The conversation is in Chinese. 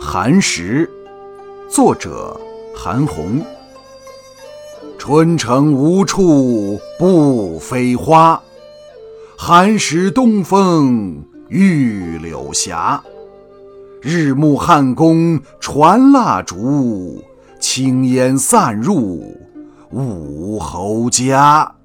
寒食，作者韩翃。春城无处不飞花，寒食东风御柳斜。日暮汉宫传蜡烛，轻烟散入武侯家。